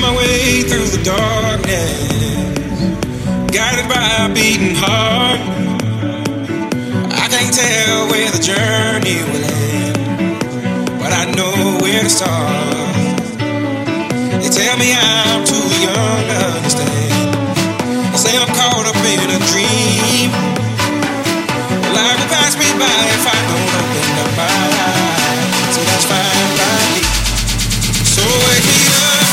my way through the darkness, guided by a beating heart. I can't tell where the journey will end, but I know where to start. They tell me I'm too young to understand. They say I'm caught up in a dream. Life will pass me by if I don't open up my eyes. So that's fine by me. So wake me up.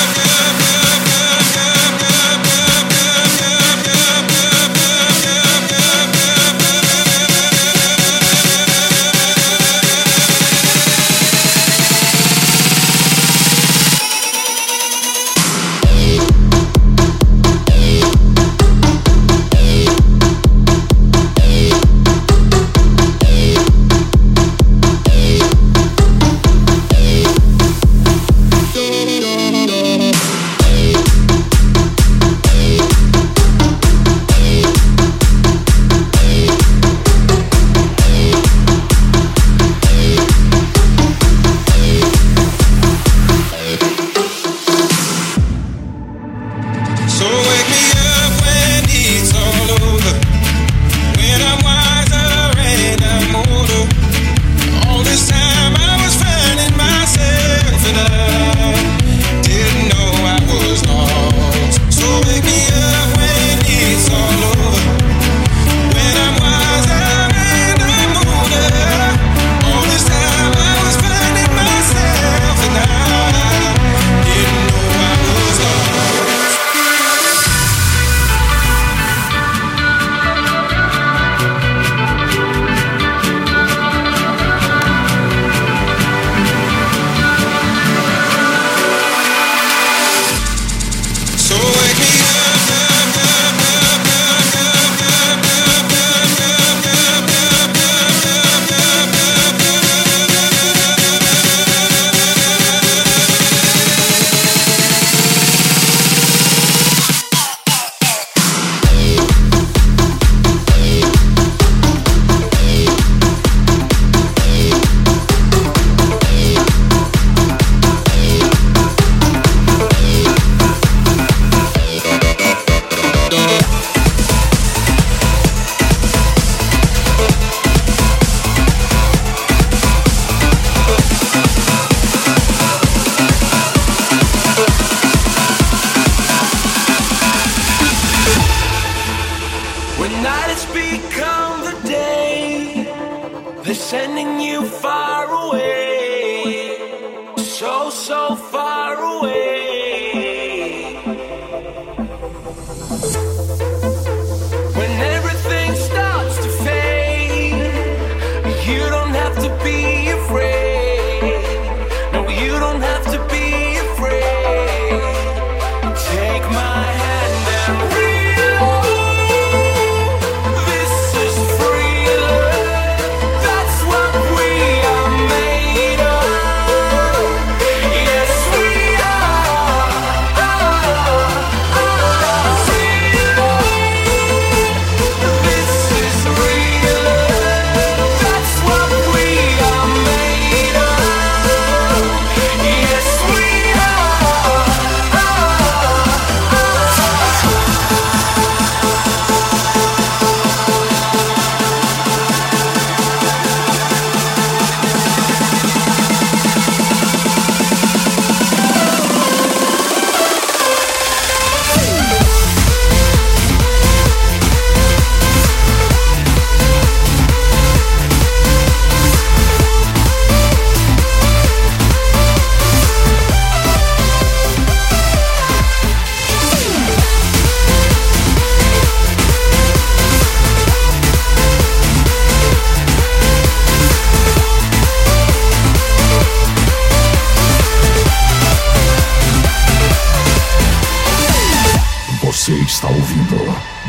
Você está ouvindo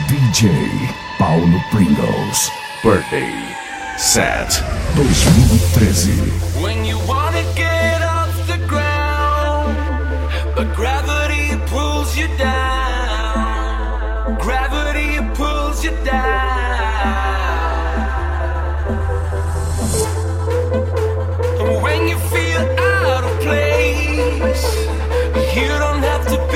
DJ Paulo Pringles Birthday Set 2013. When you wanna get off the ground, but gravity pulls you down. Gravity pulls you down. And when you feel out of place, you don't have to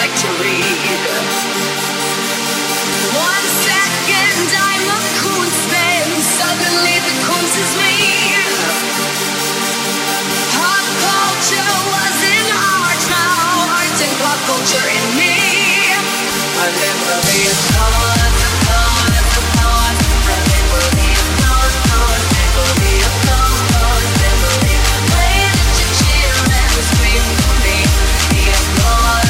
like to read. 1 second I'm a cool spin, suddenly the course is me. Pop culture was in art, now art and pop culture in me. I never be a cause, remember me a cause, never be a cause, never be a way that you cheer and scream for me. Be a cause.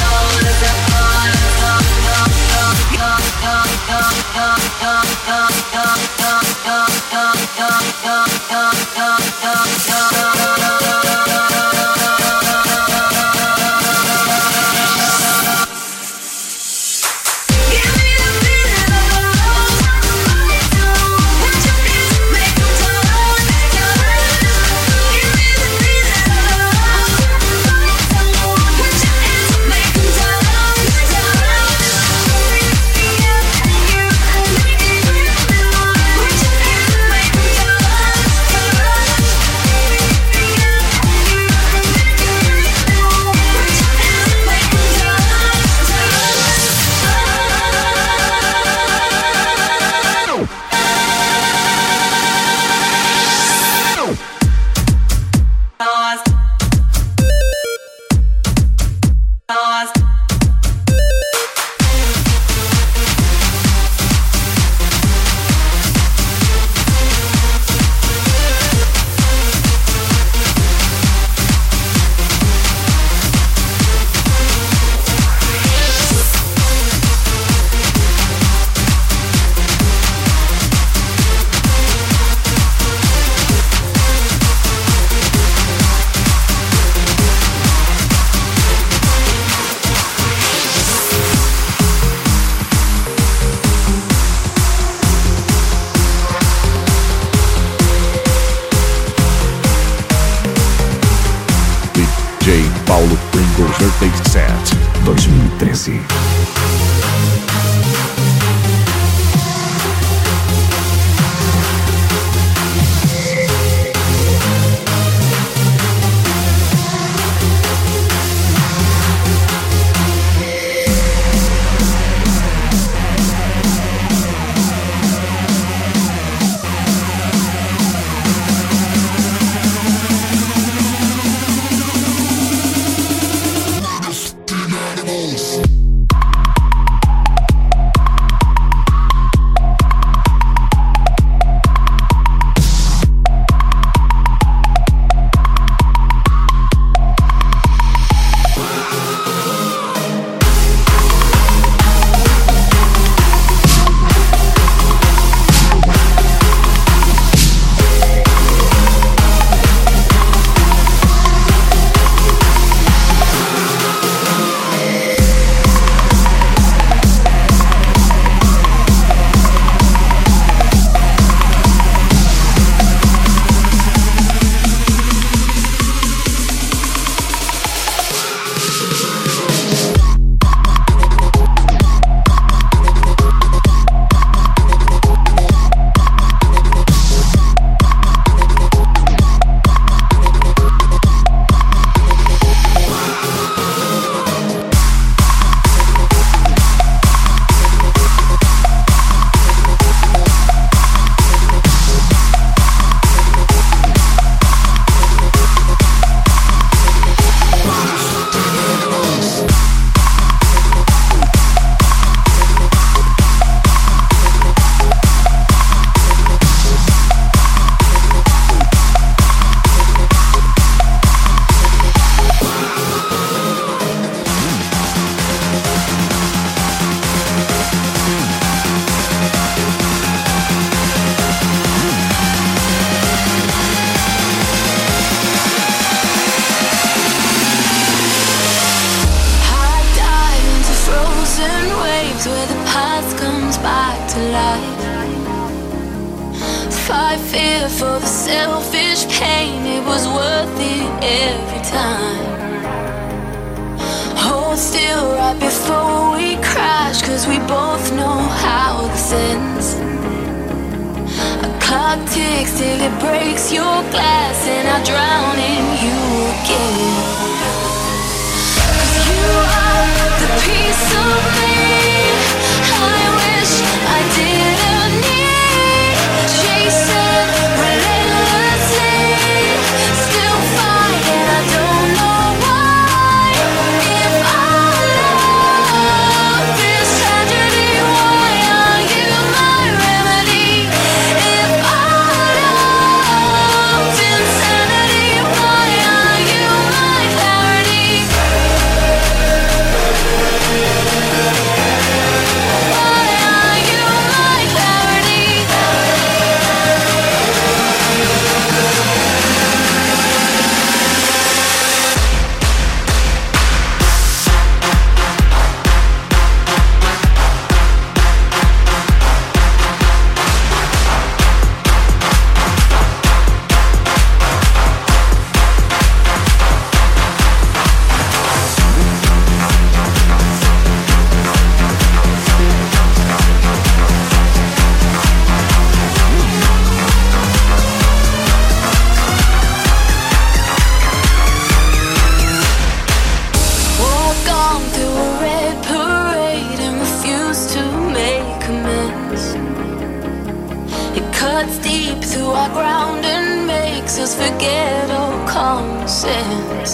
Paulo Pringles Birthday Set 2013. Fight fear for the selfish pain, it was worth it every time. Hold still right before we crash, cause we both know how this ends. A clock ticks till it breaks your glass, and I drown in you again. Cause you are the gone through a red parade and refused to make amends. It cuts deep through our ground and makes us forget all common sense.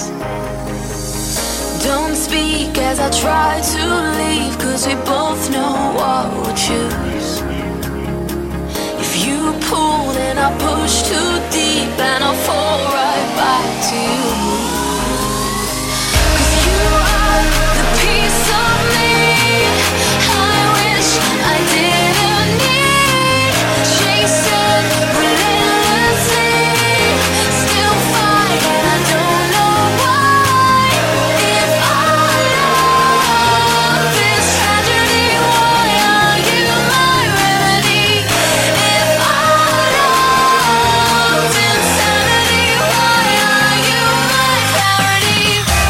Don't speak as I try to leave, 'cause we both know what we'll choose. If you pull, then I push too deep and I'll fall right back to you. 'Cause you are the piece of me I wish I didn't need. Chasing relentlessly, still fighting, I don't know why. If our love is tragedy, why are you my remedy? If our love's insanity, why are you my clarity?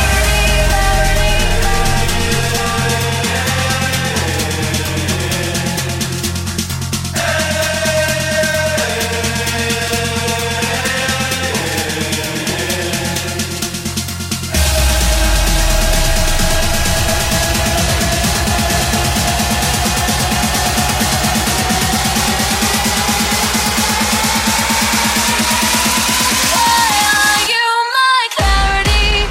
Why are you my clarity?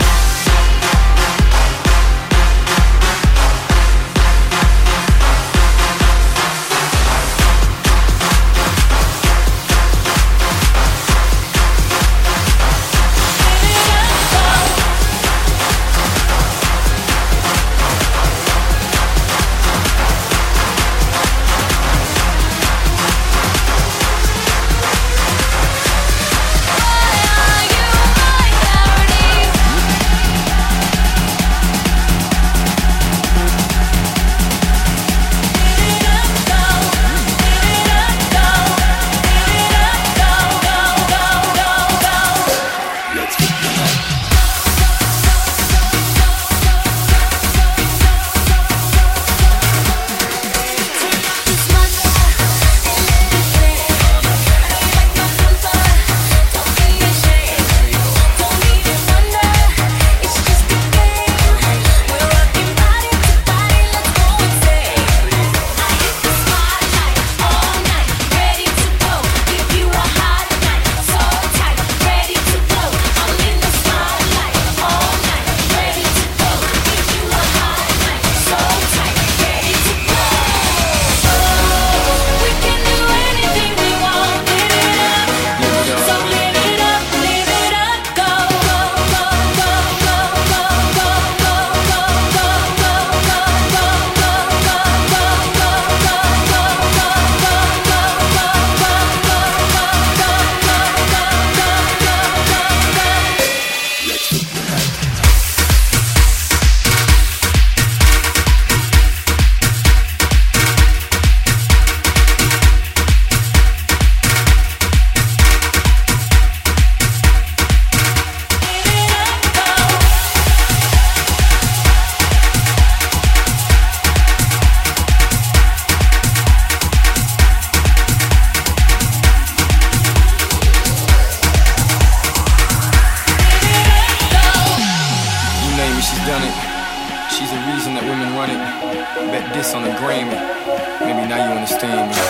She's done it. She's the reason that women run it. Bet this on a Grammy. Maybe now you understand me.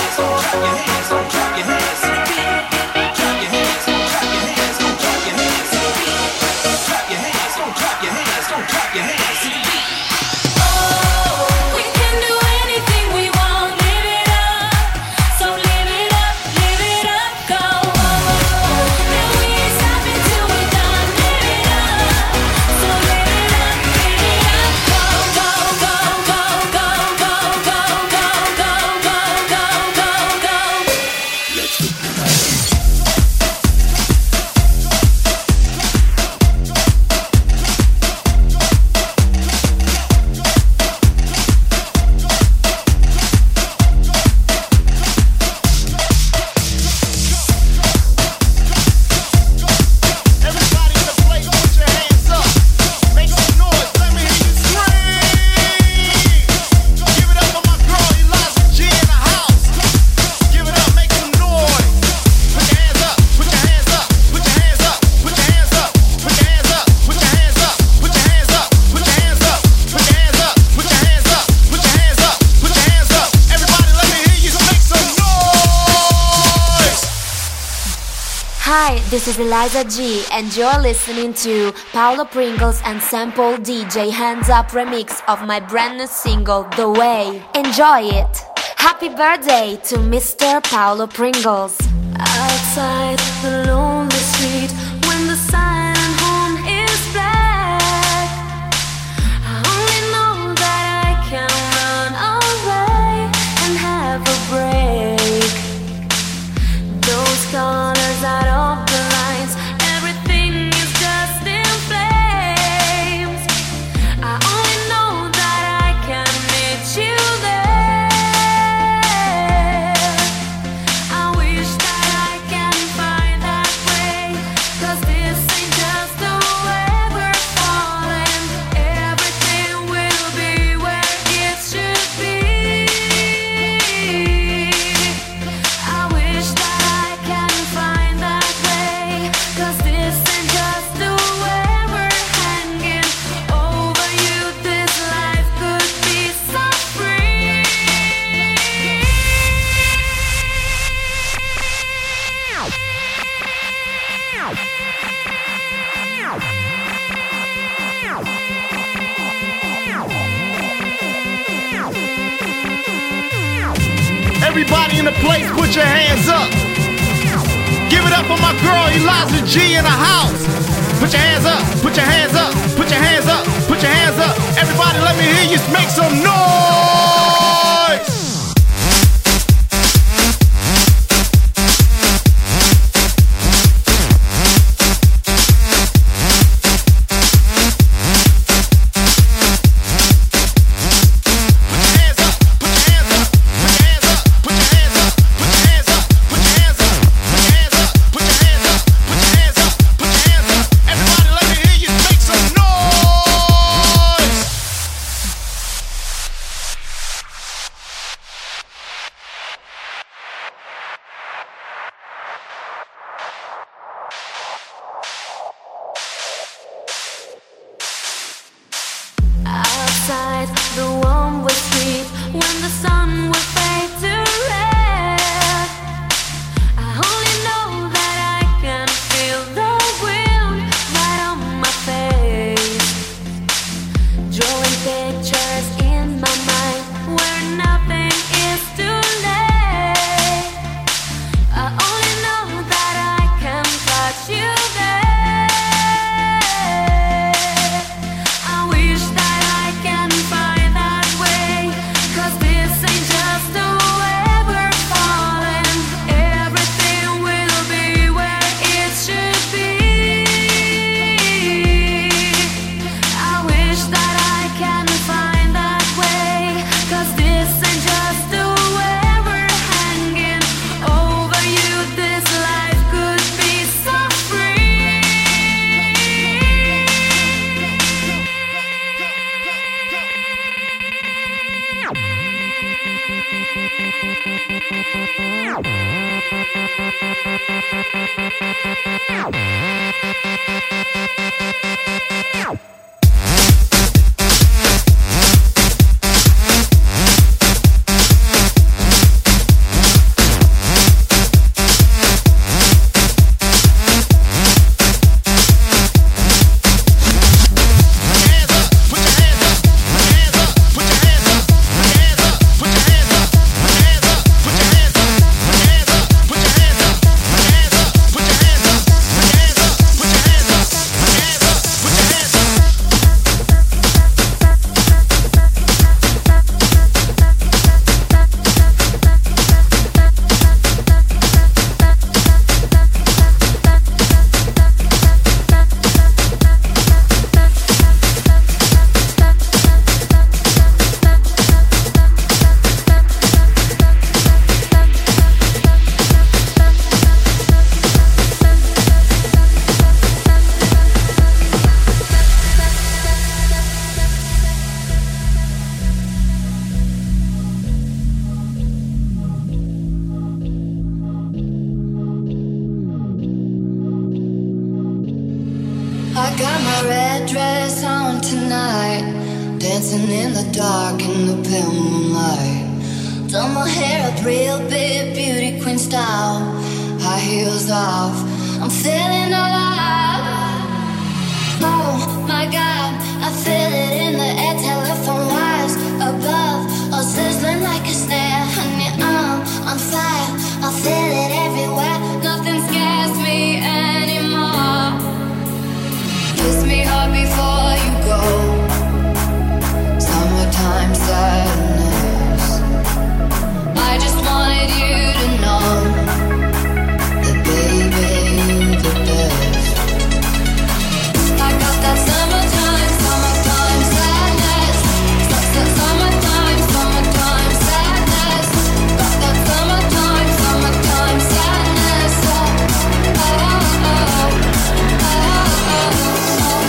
We can do anything we want, live it up. So live it up, go. And we ain't stopping till we're done, live it up. So live it up, go, go, go, go, go, go, go, go, go, go, go, go, go. Hi, this is Eliza G, and you're listening to Paulo Pringles and Sample DJ Hands Up remix of my brand new single, The Way. Enjoy it! Happy birthday to Mr. Paulo Pringles. Outside the lonely street, when the silent home is black, I only know that I can run away and have a break. Those colors out of the lines, everything is just in flames. I only know that I can meet you there. I wish that I can find that way, 'cause this ain't just the way we're falling. Everything will be where it should be. I wish that I can find that way, 'cause this ain't just the way we're hanging over you. This life could be so free. Everybody in the place, put your hands up. Give it up for my girl Eliza G in the house. Put your hands up, put your hands up, put your hands up, put your hands up. Everybody, let me hear you make some noise. Outside the one-way street, when the sun will fade to red, I only know that I can feel the wind right on my face, drawing pictures in my mind where nothing is too late. I only know that I can touch you there. I wish that I can find that way, 'cause this ain't just the way we're falling. Everything will be where it should be. I wish that I can find that way, 'cause this ain't just the way we're hanging over you. This life could be so free. I got my red dress on tonight, dancing in the dark in the pale moonlight. Done my hair up real big, beauty queen style, high heels off. I'm feeling alive. Oh my God, I feel it in the air. Telephone wires above, all sizzling like a snare. Honey, I'm on fire. I feel it everywhere. Nothing scares me anymore. Kiss me hard before you go. Summertime sadness. I just wanted you to know that baby, you're the best. I got that summertime sadness. Summertime sadness. Got that summertime sadness. Oh, oh, oh, oh, oh.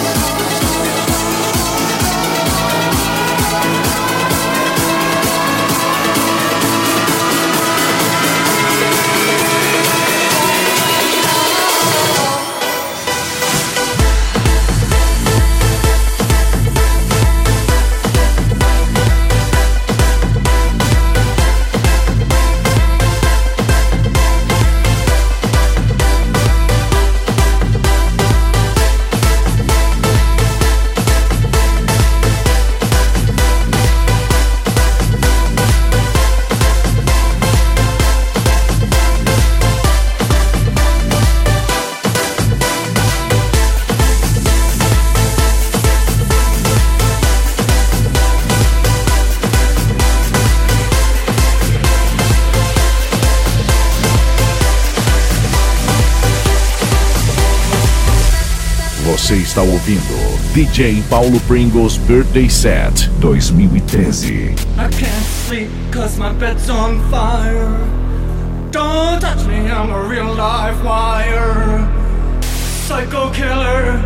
Você está ouvindo DJ Paulo Pringles Birthday Set 2013. I can't sleep cause my bed's on fire. Don't touch me, I'm a real live wire. Psycho killer.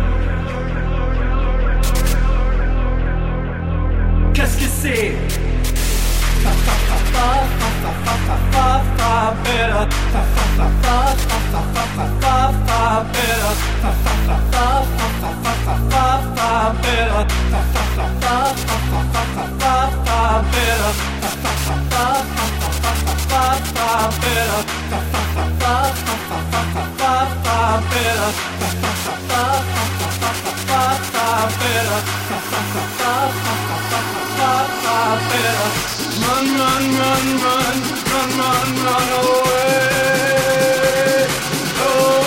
Qu'est-ce que c'est? Fa fa fa fa fa fa fa fa fa better. Fa fa fa fa fa fa fa fa fa better. Fa fa fa fa fa fa fa fa fa better. Fa fa fa fa fa fa fa fa fa better. Fa fa fa fa fa fa fa fa better. Fa fa fa fa fa fa fa fa better. Fa fa fa fa fa fa fa better. Fa fa fa fa fa better. Run, run, run, run, run, run, run away. Oh,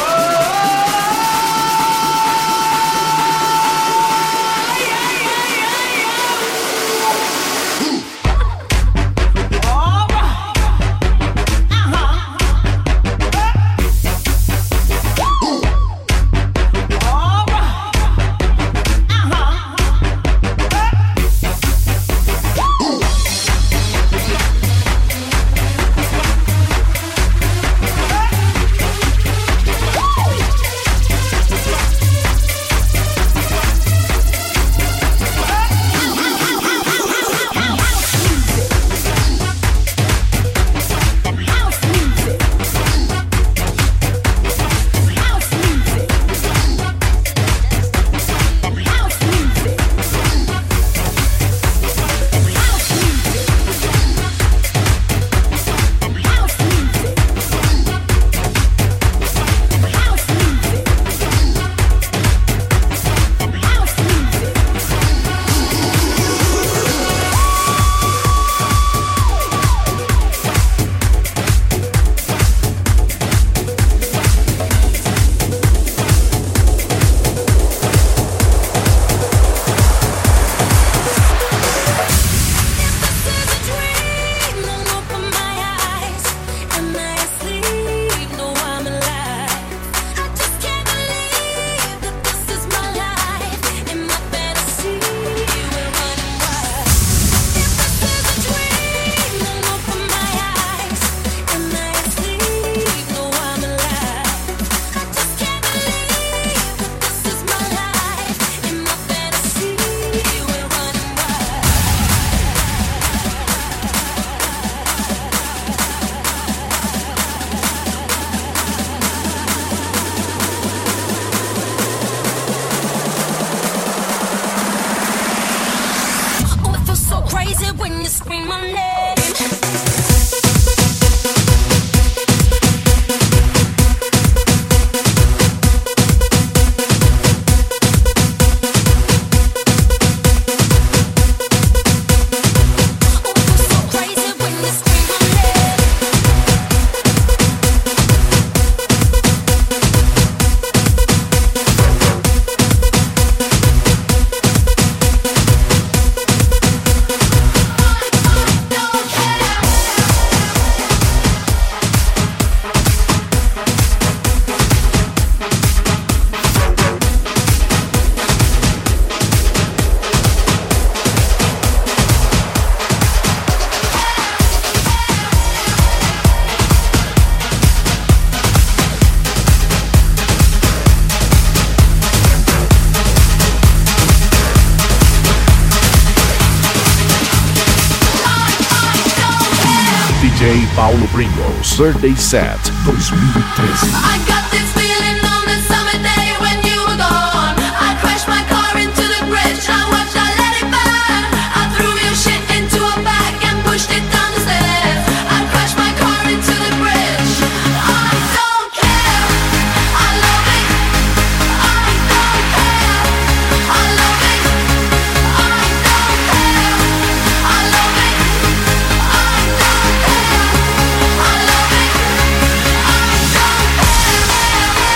DJ Paulo Pringles Birthday Set 2013. I got this feeling on the summer day when you were gone. I crashed my car into the bridge. I watched, I let it burn. I threw your shit into a bag and pushed it down the stairs. I crashed my car into the bridge. I don't care. I love it. I don't care. I love it. I don't care. I love it. I don't care. I love it. I don't care.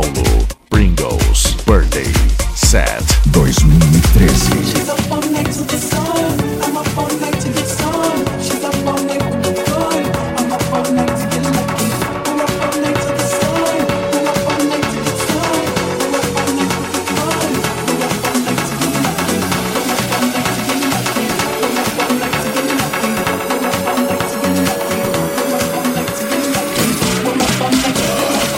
Paulo Pringles Birthday Set 2013. She's up all night to the sun. I'm up all night to get some. She's up all night with the fun. I'm up all night to get lucky. I'm up all night to the sun. I'm up all night to get some. I'm up all night with the fun. I'm up all night to get lucky. I'm up all night to get lucky. I'm up all night to get lucky. I'm up all night to get lucky. I'm up all night to get lucky. I'm up all night to get lucky.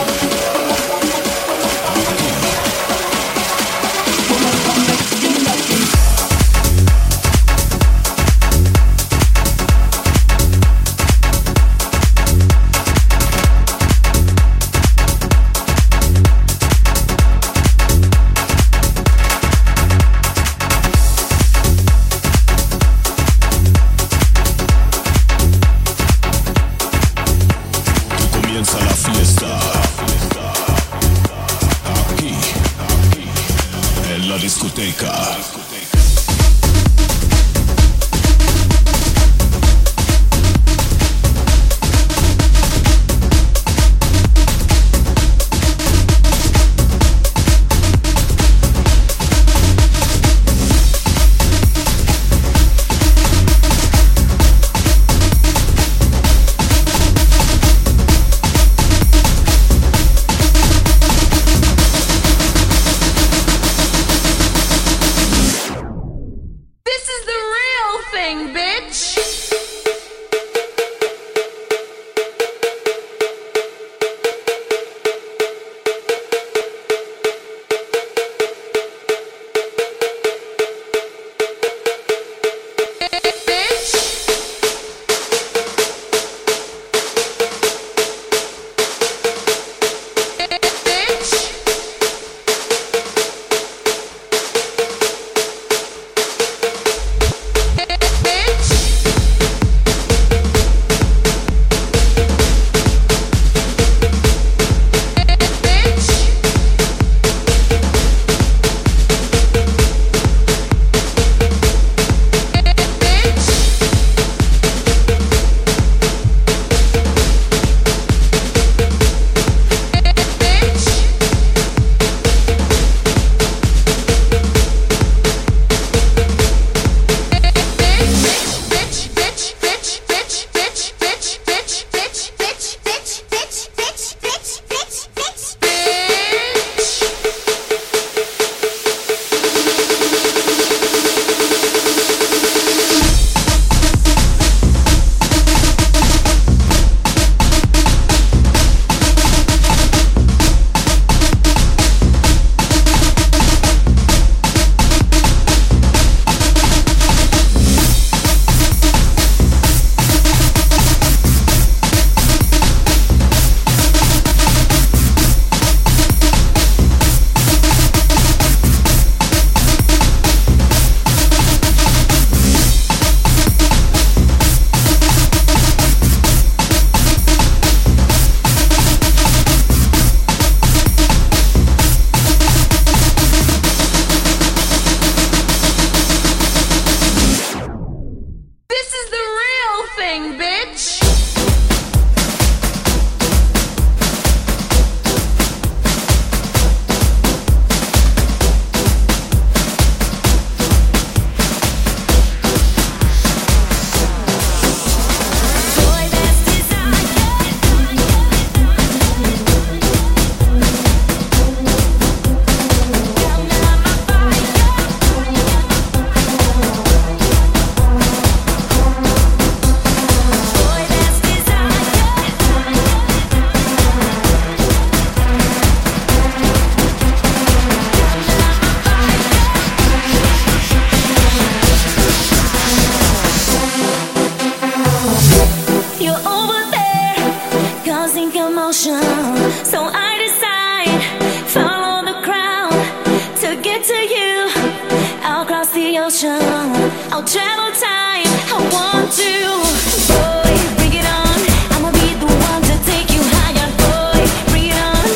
I'll travel time. I want to. Boy, bring it on. I'ma be the one to take you higher. Boy, bring it on.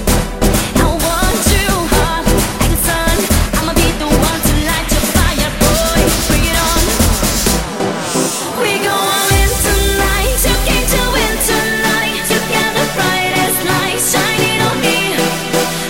I want to. Hot like the sun. I'ma be the one to light your fire. Boy, bring it on. We go all in tonight. You came to win tonight. You got the brightest light shining on me.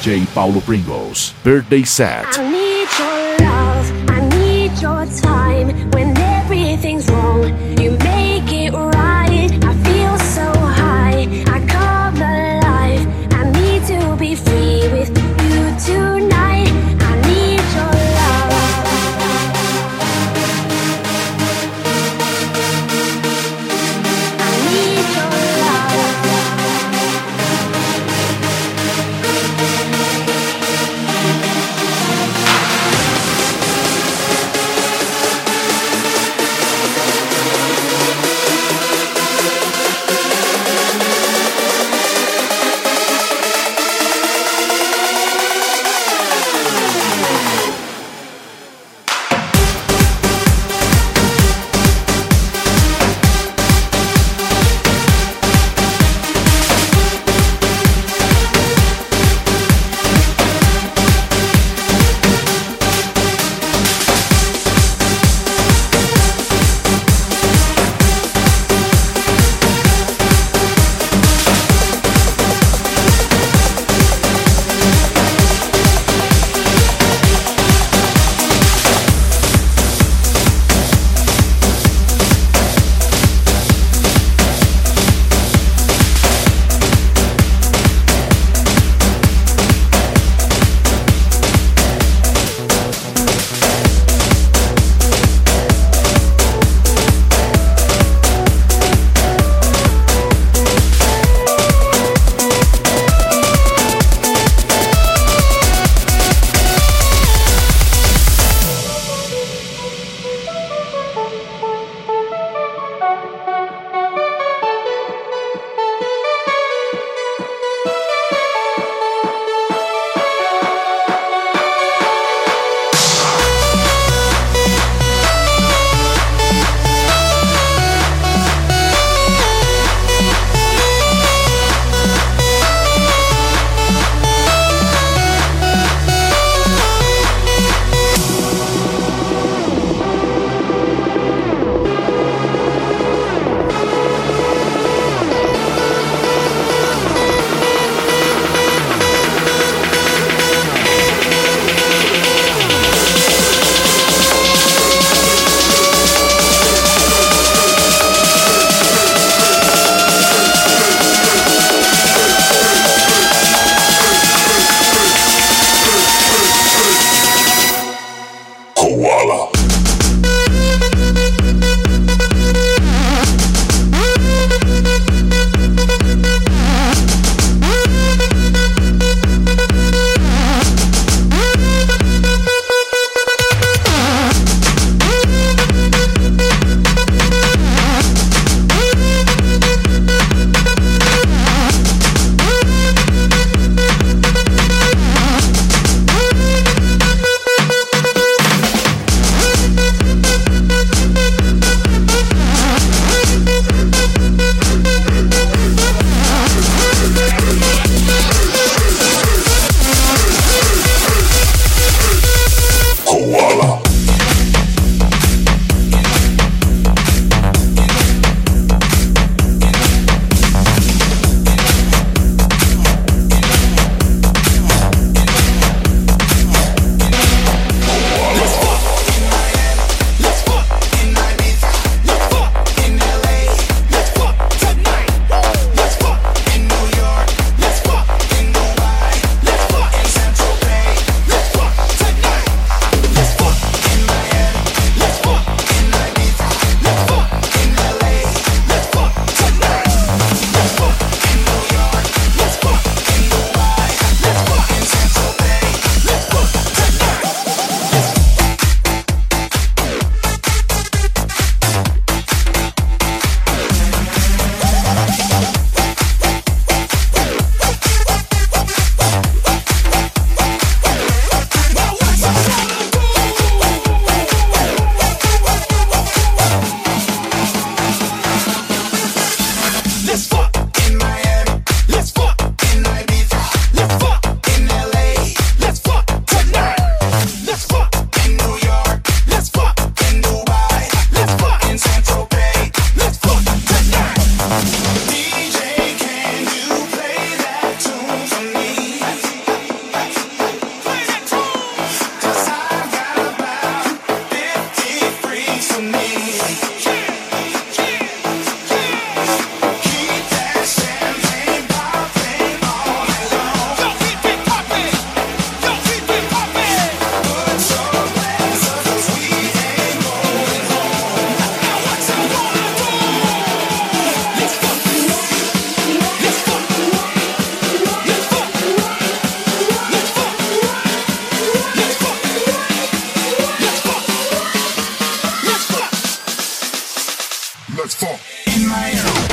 DJ Paulo Pringles. Birthday set. I need your love, I need your time. When everything's wrong, you make it right. I feel so high, I come alive. I need to be free with you tonight. I need your love. I need your love. Let's fall in my own.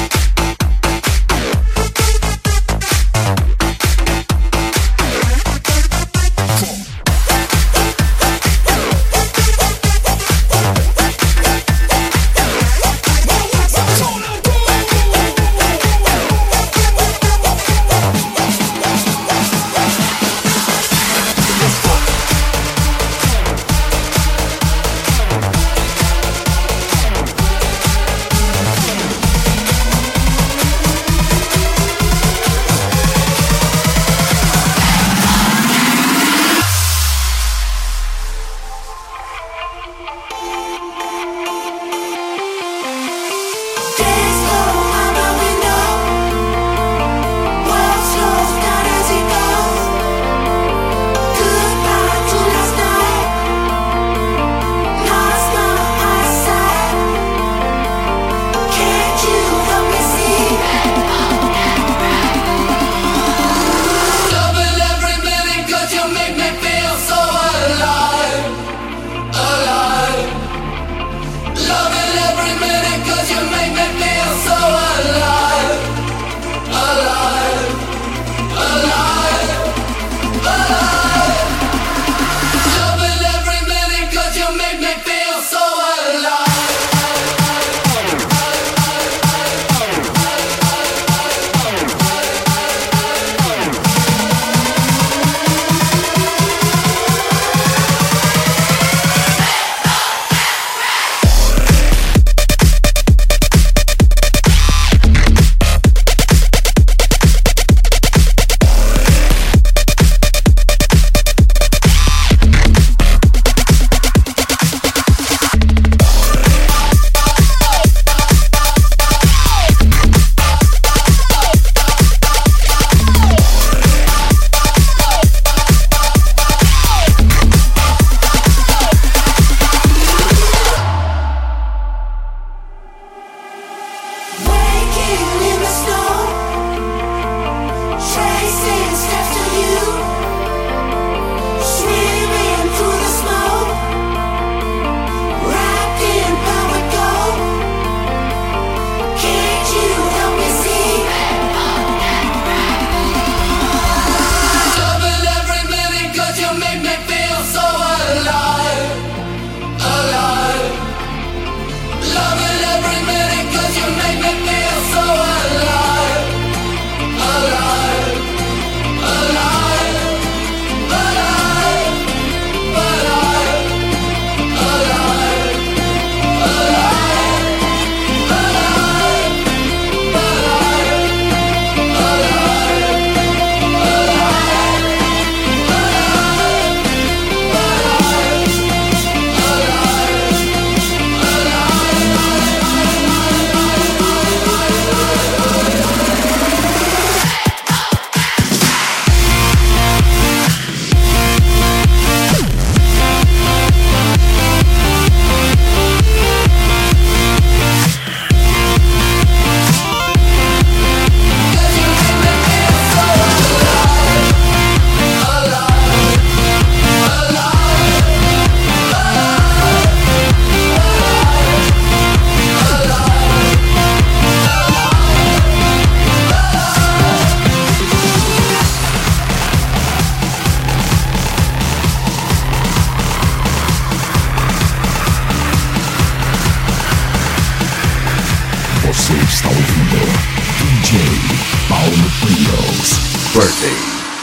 Birthday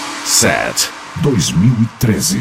Set 2013.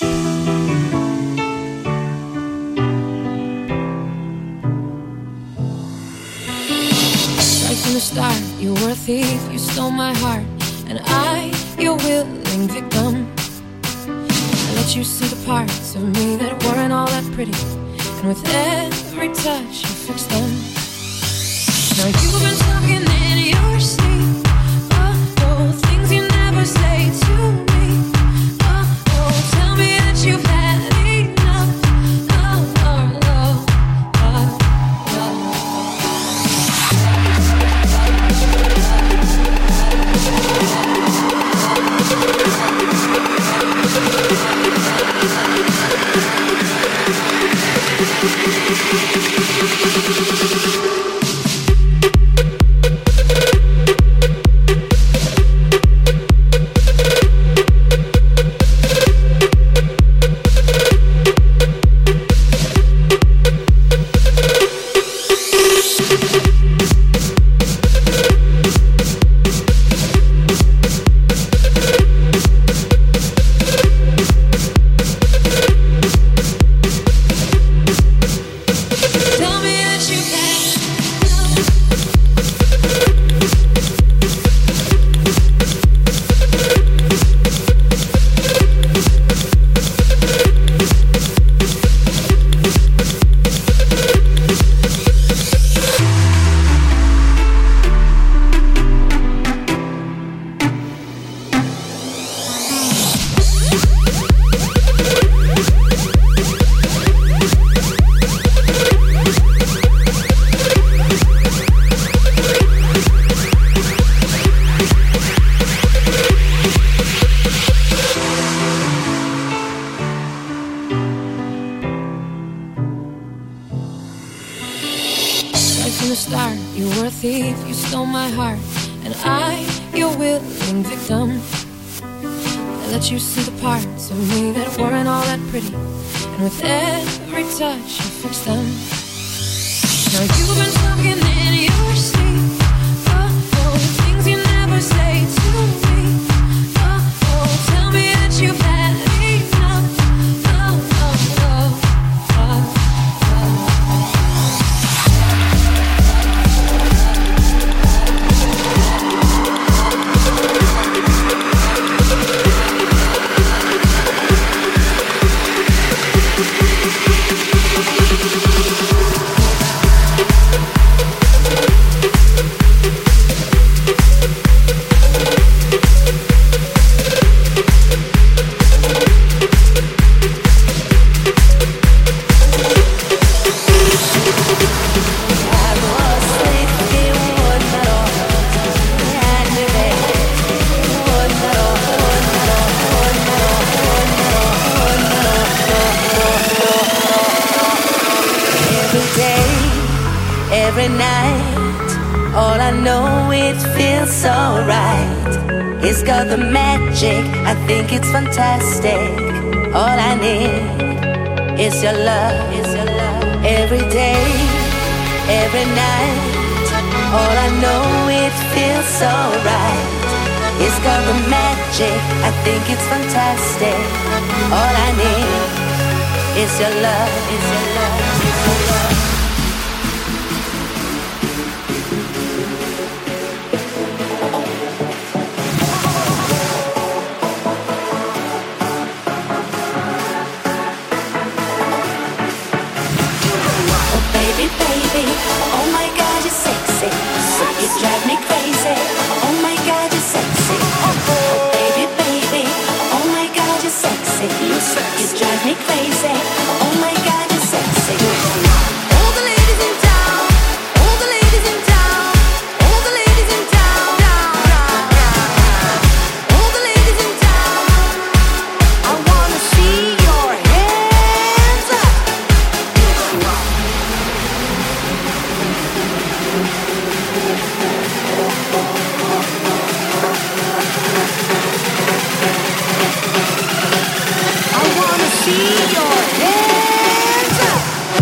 Right from the start, you were a thief, you stole my heart, and I, your willing victim. I let you see the parts of me that weren't all that pretty, and with every touch you fixed them. Now you've been talking in your sleep, oh, things you never say to me, oh, tell me that you've had enough, from the start. You were a thief, you stole my heart, and I, your willing victim. I let you see the parts of me that weren't all that pretty, and with every touch you fixed them. Now you've been talking in your sleep. Oh, things you never say to me. Oh, tell me that you've had enough. Every night, all I know, it feels so right. It's got the magic, I think it's fantastic. All I need is your love, every day, every night. All I know, it feels so right. It's got the magic, I think it's fantastic. All I need is your love, is your love, is your love. Oh my God, you're sexy. You drive me crazy. Oh my God, you're sexy. Oh baby, baby. Oh my God, you're sexy. You drive me crazy. Oh my God, you're sexy. All the ladies in town. All the ladies in town. All the ladies in town. All the ladies in town. I wanna see your hands up. I wanna see your hands up.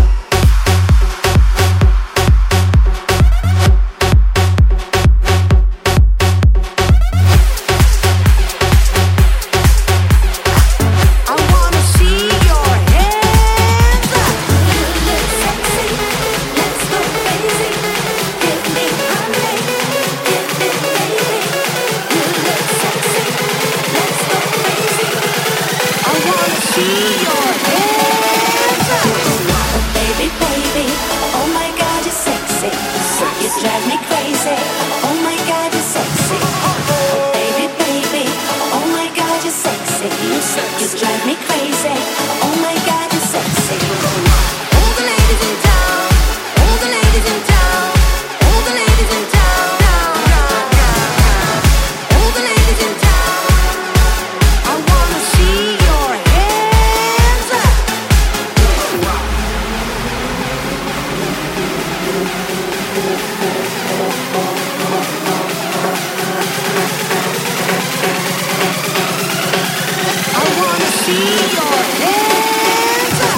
I wanna see your hands up. You look sexy, let's go crazy. Give me honey, give me baby. You look sexy, let's go crazy. I wanna see your hands up. Baby, baby, oh my God, you're sexy. You drive me crazy. Oh my God, you're sexy. Baby, baby, oh my God, you're sexy. You drive me crazy. Oh my God, you're sexy. All the ladies in town. All the ladies in town. All the ladies in town. All the ladies in town. I wanna see your hands up. I wanna see your hands up.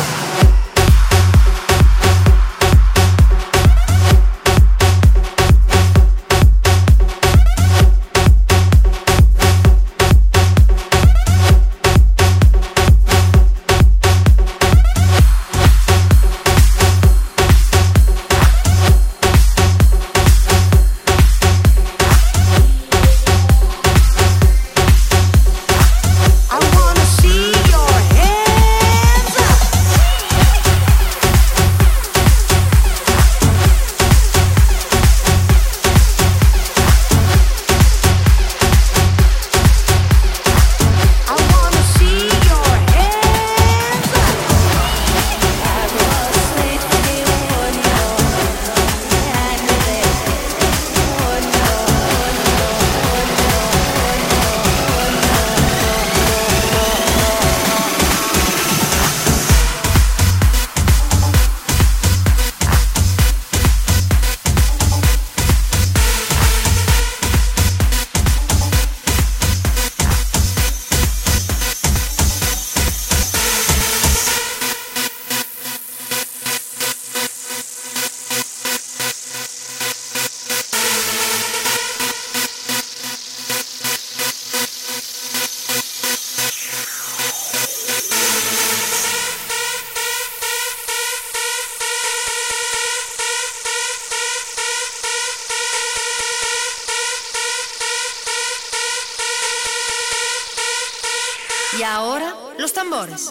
Y ahora, los tambores.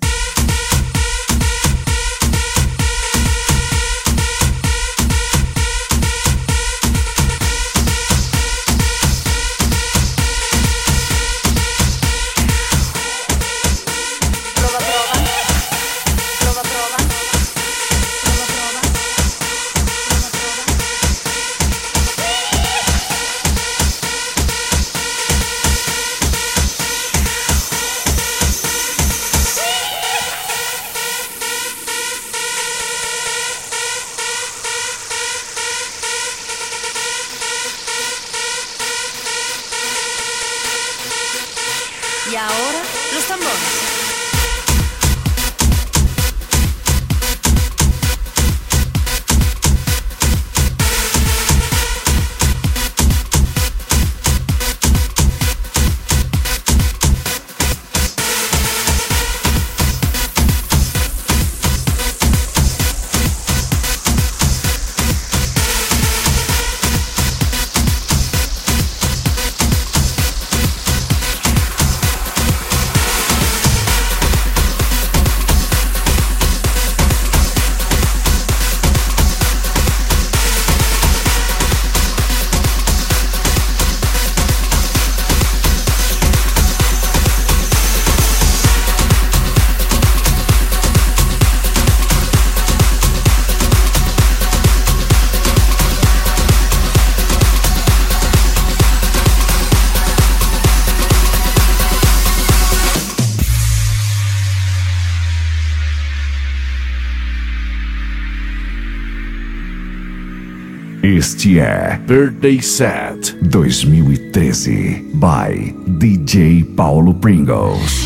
Y ahora, los tambores. Este é Birthday Set 2013 by DJ Paulo Pringles.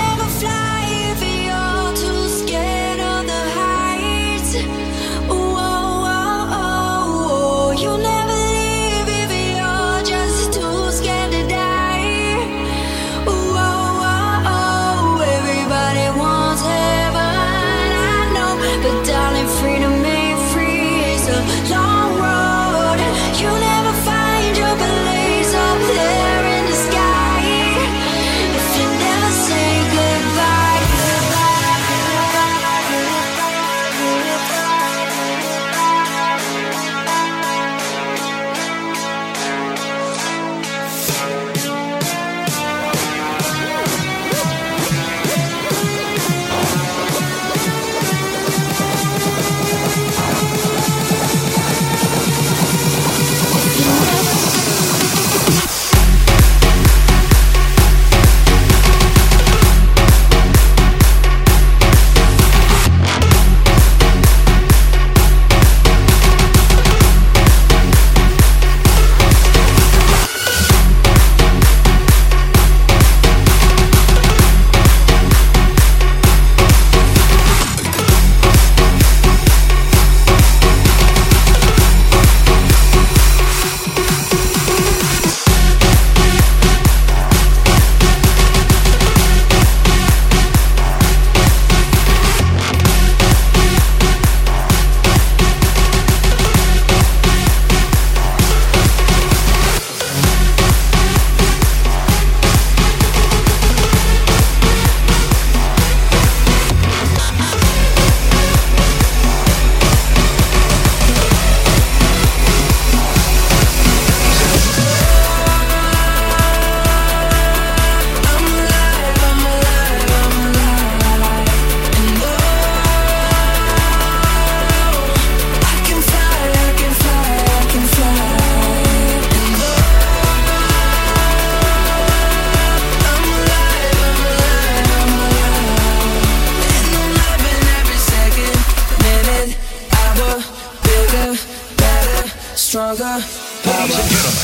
Stronger, power.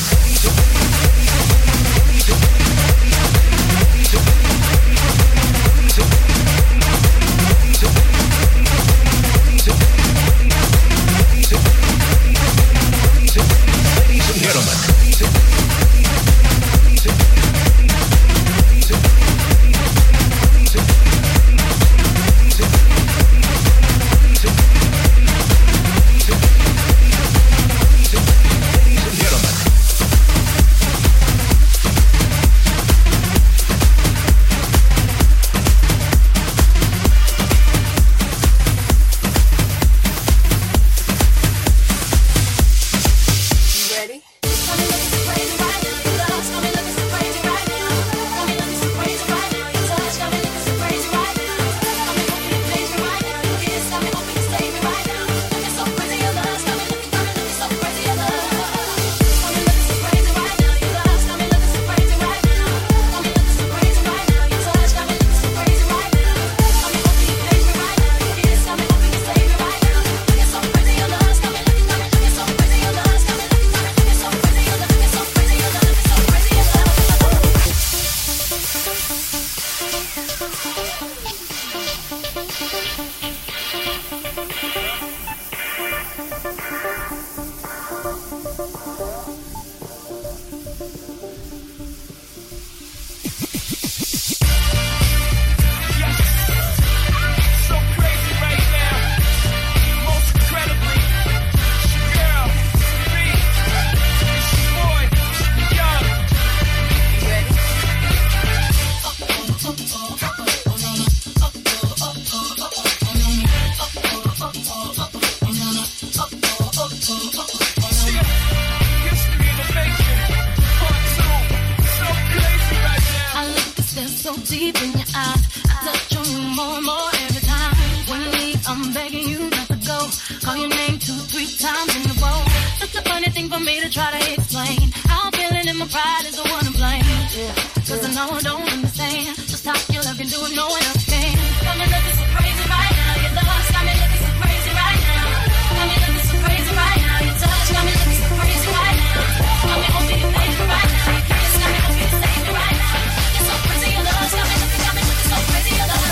deep in your eyes. I touch on you more and more every time. When you leave, I'm begging you not to go. Call your name 2-3 times in a row. Such a funny thing for me to try to explain. How I'm feeling and my pride is the one to blame. Cause I know I don't understand just how your love can do it, no one else can. Got me looking so crazy right now. Your love's got me looking so crazy right now. Got me looking so crazy right now. Your touch got me looking so crazy right now. Got me hoping you made it right now. Your kiss got me hoping you saved me right now. You're so crazy, your love's got me looking so crazy, your love.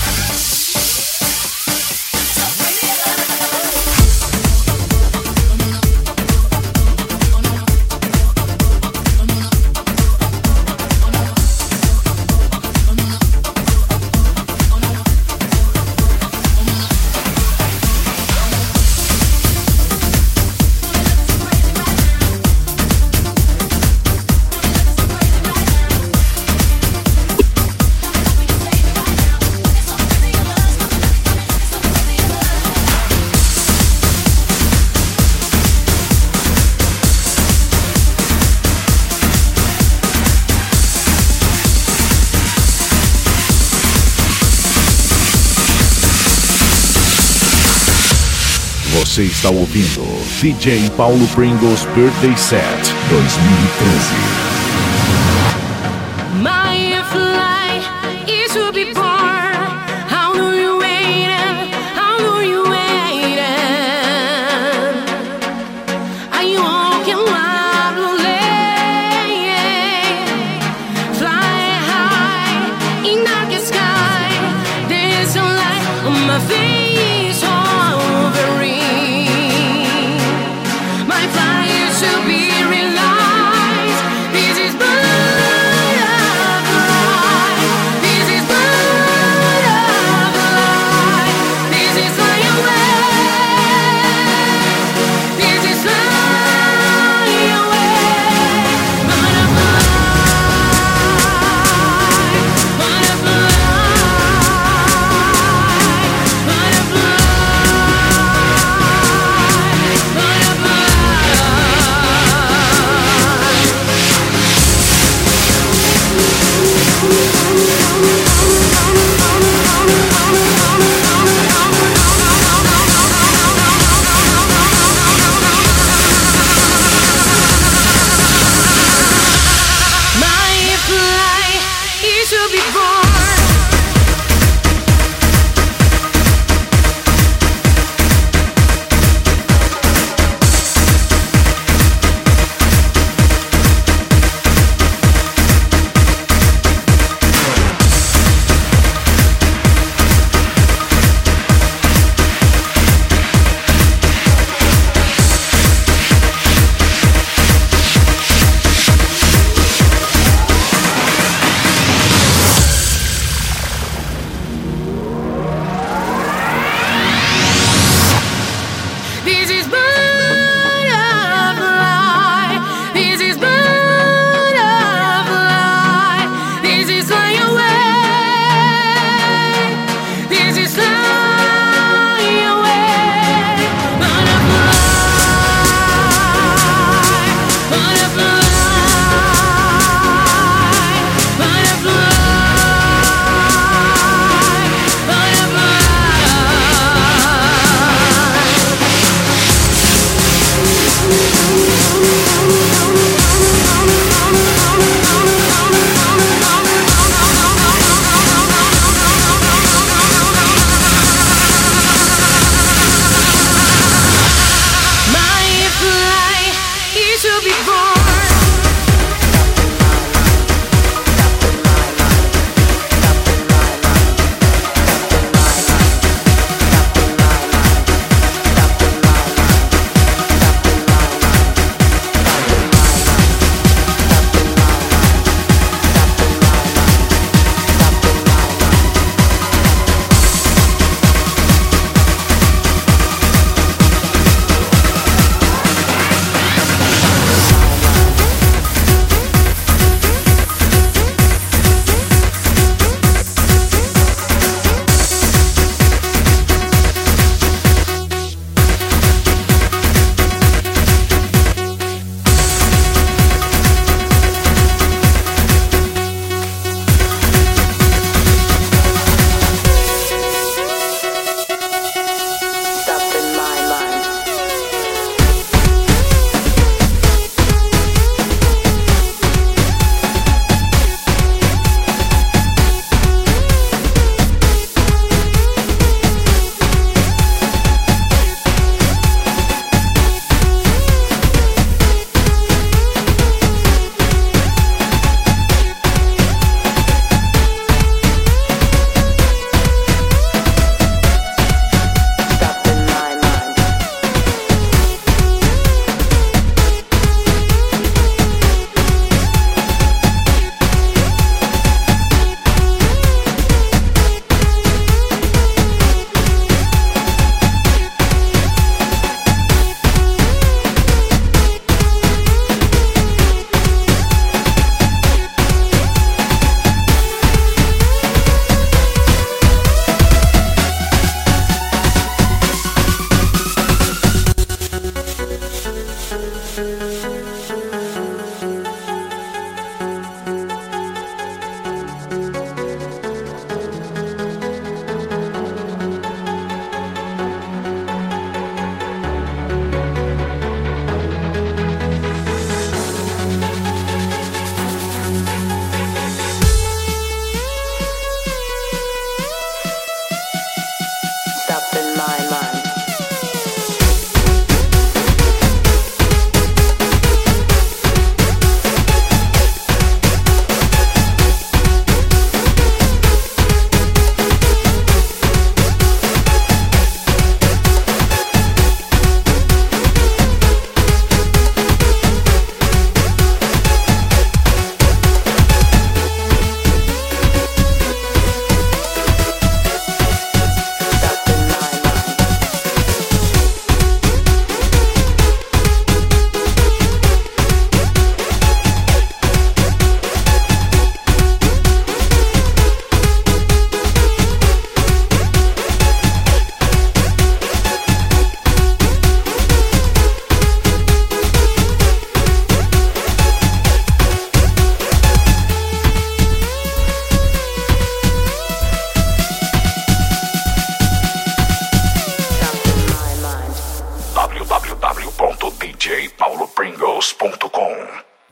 So crazy, your love. Você está ouvindo DJ Paulo Pringles Birthday Set 2013. My flight is to be born. How do you wait? How do you wait? Are you walking wildly? Fly high in dark sky. There's a light on my face. My fire should be realized. This is Thank